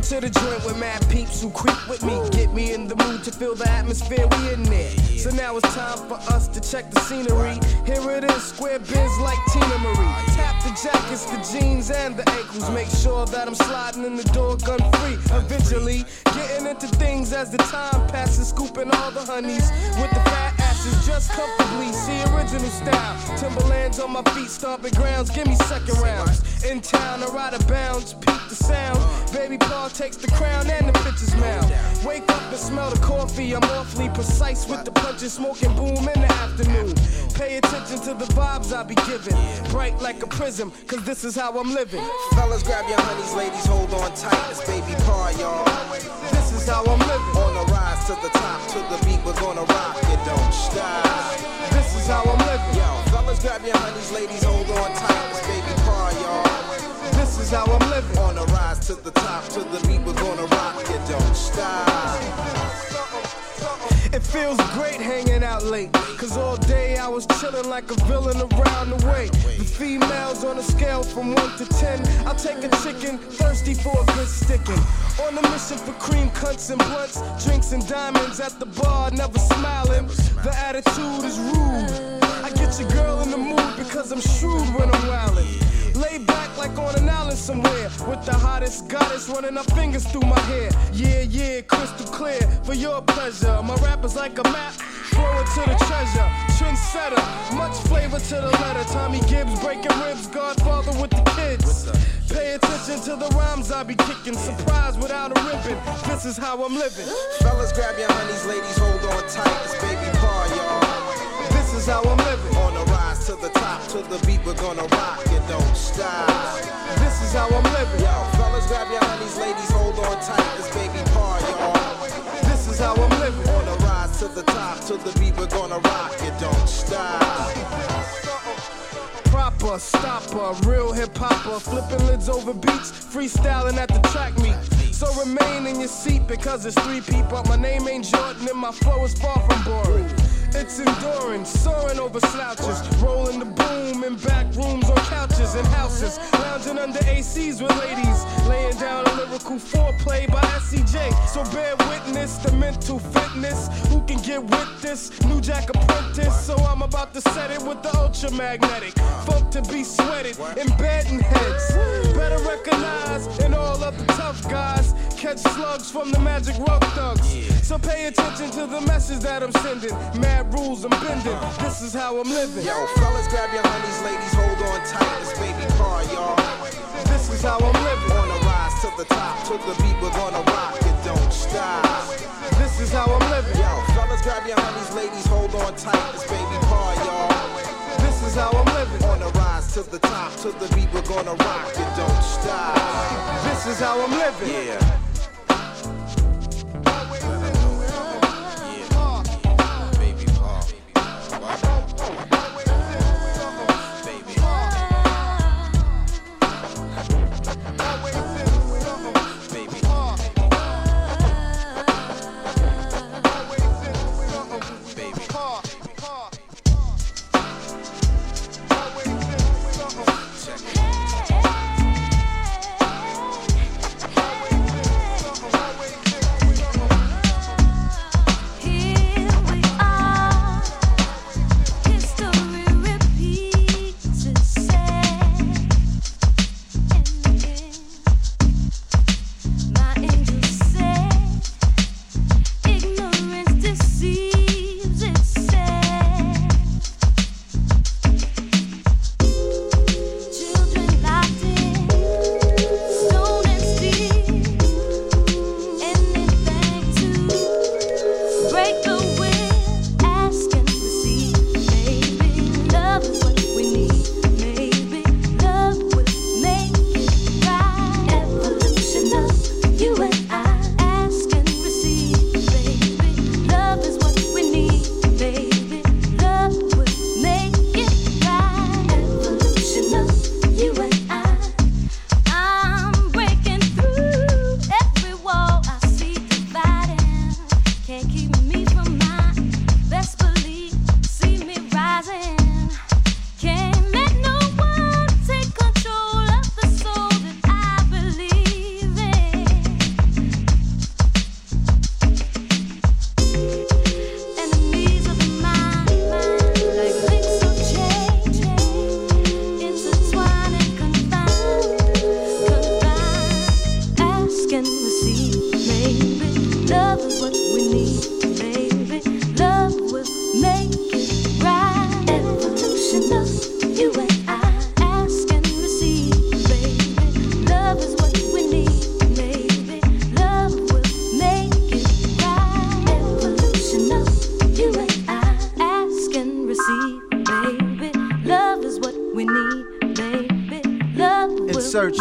to the joint with mad peeps who creep with me. Get me in the mood to feel the atmosphere, we in there. So now it's time for us to check the scenery. Here it is, square biz like Tina Marie. Tap the jackets, the jeans, and the ankles. Make sure that I'm sliding in the door gun free. Eventually, getting into things as the time passes. Scooping all the honeys with the fat asses just comfortably. See original style. Timberlands on my feet, stomping grounds. Give me second rounds. In town or out of bounds, peep the sound. Baby Paul takes the crown and the pitcher's mound. Wake up and smell the coffee. I'm awfully precise with the punches, smoking boom in the afternoon. Pay attention to the vibes I be giving. Bright like a prism, cause this is how I'm living. Fellas, grab your honeys, ladies, hold on tight. It's Baby Paul, y'all. This is how I'm living. On the rise to the top, to the beat, we're gonna rock it, don't stop. This is how I'm living. Yo, fellas, grab your honeys, ladies, hold on tight. It's Baby Paul, y'all. This is how I'm living. On the rise to the top, to the beat, we're gonna rock it, don't stop. It feels great hanging out late, cause all day I was chilling like a villain around the way. The females on a scale from 1 to 10, I'll take a chicken, thirsty for a good sticking. On a mission for cream cunts and blunts, drinks and diamonds at the bar, never smiling. The attitude is rude. I get your girl in the mood because I'm shrewd when I'm wildin'. Lay back like on an island somewhere, with the hottest goddess running her fingers through my hair. Yeah, yeah, crystal clear for your pleasure. My rap is like a map, flowing to the treasure. Trendsetter, much flavor to the letter. Tommy Gibbs breaking ribs, Godfather with the kids. Pay attention to the rhymes I be kicking. Surprise without a ribbon. This is how I'm living. Fellas, grab your honeys, ladies, hold on tight. It's Baby Paul, y'all. This is how I'm living. On the rise to the top, to the beat, we're gonna rock it, don't stop. This is how I'm living. Yo, fellas, grab your honeys, ladies, hold on tight. It's Baby Paul, y'all. This is how I'm living. On the rise to the top, to the beat, we're gonna rock it, don't stop. Proper, stopper, real hip-hopper, flipping lids over beats, freestyling at the track meet. So remain in your seat because it's 3 people. My name ain't Jordan and my flow is far from boring. It's enduring, soaring over slouches, rolling the boom in back rooms on couches and houses, lounging under ACs with ladies, laying down a lyrical foreplay by SCJ. So bear witness the mental fitness. Who can get with this? New Jack Apprentice. So I'm about to set it with the ultramagnetic. Folk to be sweated, embedding heads. Better recognize in all of the tough guys. Catch slugs from the Magic Rough Thugs. So pay attention to the message that I'm sending. Mad rules I'm bending. This is how I'm living. Yo, fellas, grab your honeys, ladies, hold on tight. It's Baby Paul, y'all. This is how I'm living. On the rise to the top, to the beat, we're gonna rock it, don't stop. This is how I'm living. Yo, fellas, grab your honeys, ladies, hold on tight. It's Baby Paul, y'all. This is how I'm living. On the rise to the top, to the beat, we're gonna rock it, don't stop. This is how I'm living. Yeah.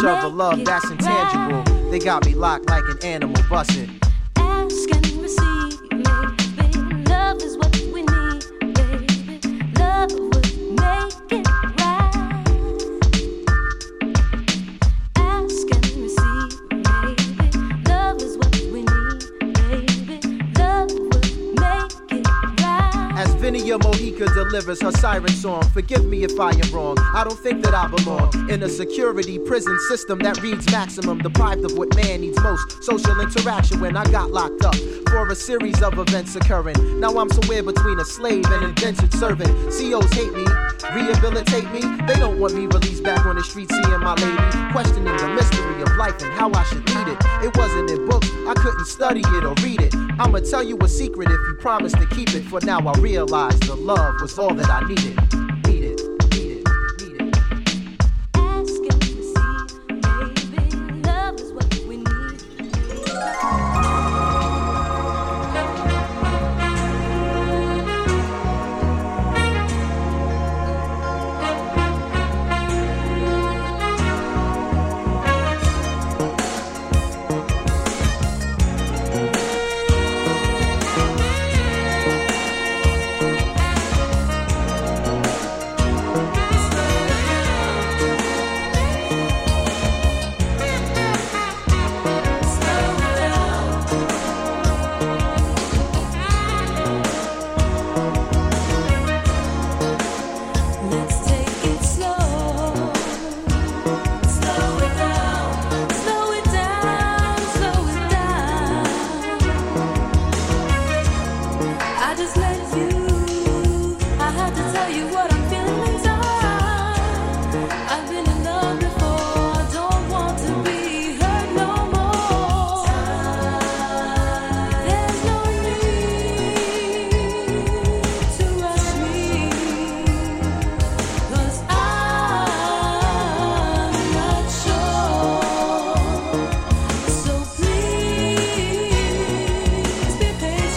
other, love that's intangible. They got me locked like an animal, bust it. Ask and receive, baby. Love is what we need, baby. Love would make it right. Ask and receive, baby. Love is what we need, baby. Love would make it right. As Vinia Mojica delivers her siren song, forgive me if I am wrong. I don't think that I belong in a security prison system that reads maximum, deprived of what man needs most, social interaction. When I got locked up for a series of events occurring, now I'm somewhere between a slave and indentured servant. COs hate me, rehabilitate me. They don't want me released back on the street, seeing my lady, questioning the mystery of life and how I should lead it. It wasn't in books, I couldn't study it or read it. I'ma tell you a secret if you promise to keep it. For now I realize the love was all that I needed. Love is what we need. Let's take it slow. Slow it down. Slow it down. Slow it down. I just let you. I had to tell you what I'm feeling inside. I've been in love before. Don't want to be hurt no more. There's no need to rush me. 'Cause I'm not sure. So please be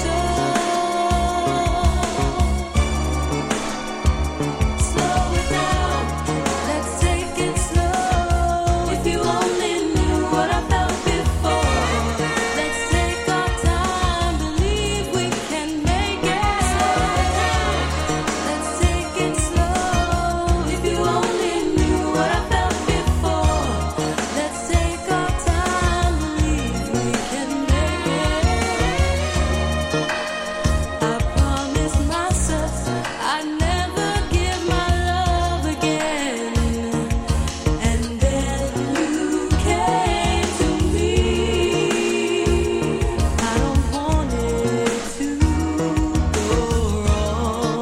patient. Slow it down. Let's take it slow. If you only knew what I felt before. Let's take our time. Believe we can make it. Let's take it slow. If you only knew what I felt before. Let's take our time. Believe we can make it. I promised myself I'd never give my love again. And then you came to me. I don't want it to go wrong.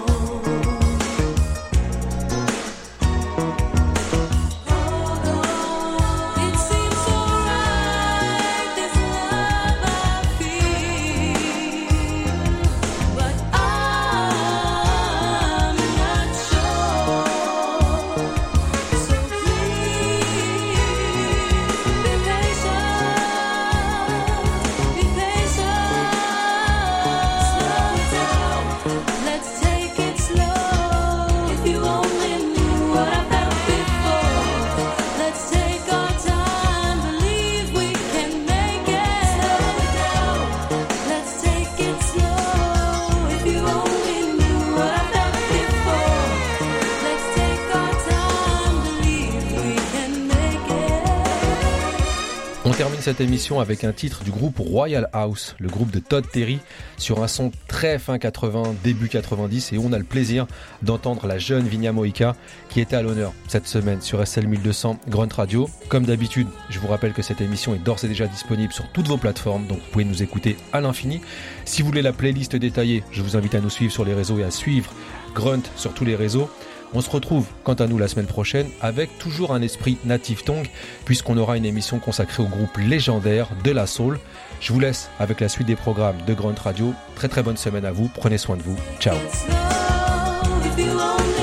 It seems so right, this love I feel, but I'm not sure. So please be patient, be patient. Slow it down, let's take it slow. If you only knew what I felt before. Let's take our time, believe we can make it. Slow it down, let's take it slow. If you only knew what I felt before. Let's take our time, believe we can make it. On termine cette émission avec un titre du groupe Royal House, le groupe de Todd Terry, sur un son très fin 80, début 90, et on a le plaisir d'entendre la jeune Vinia Mojica qui était à l'honneur cette semaine sur SL 1200 Grunt Radio. Comme d'habitude, je vous rappelle que cette émission est d'ores et déjà disponible sur toutes vos plateformes, donc vous pouvez nous écouter à l'infini. Si vous voulez la playlist détaillée, je vous invite à nous suivre sur les réseaux et à suivre Grunt sur tous les réseaux. On se retrouve quant à nous la semaine prochaine avec toujours un esprit Native Tongue, puisqu'on aura une émission consacrée au groupe légendaire de la soul. Je vous laisse avec la suite des programmes de Grunt Radio. Très très bonne semaine à vous, prenez soin de vous, ciao. If you only